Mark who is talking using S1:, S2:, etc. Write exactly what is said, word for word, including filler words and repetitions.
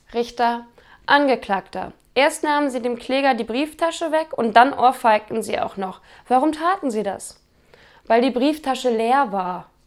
S1: Richter: Angeklagter. Erst nahmen Sie dem Kläger die Brieftasche weg und dann ohrfeigten Sie auch noch. Warum taten Sie das? Weil die Brieftasche leer war.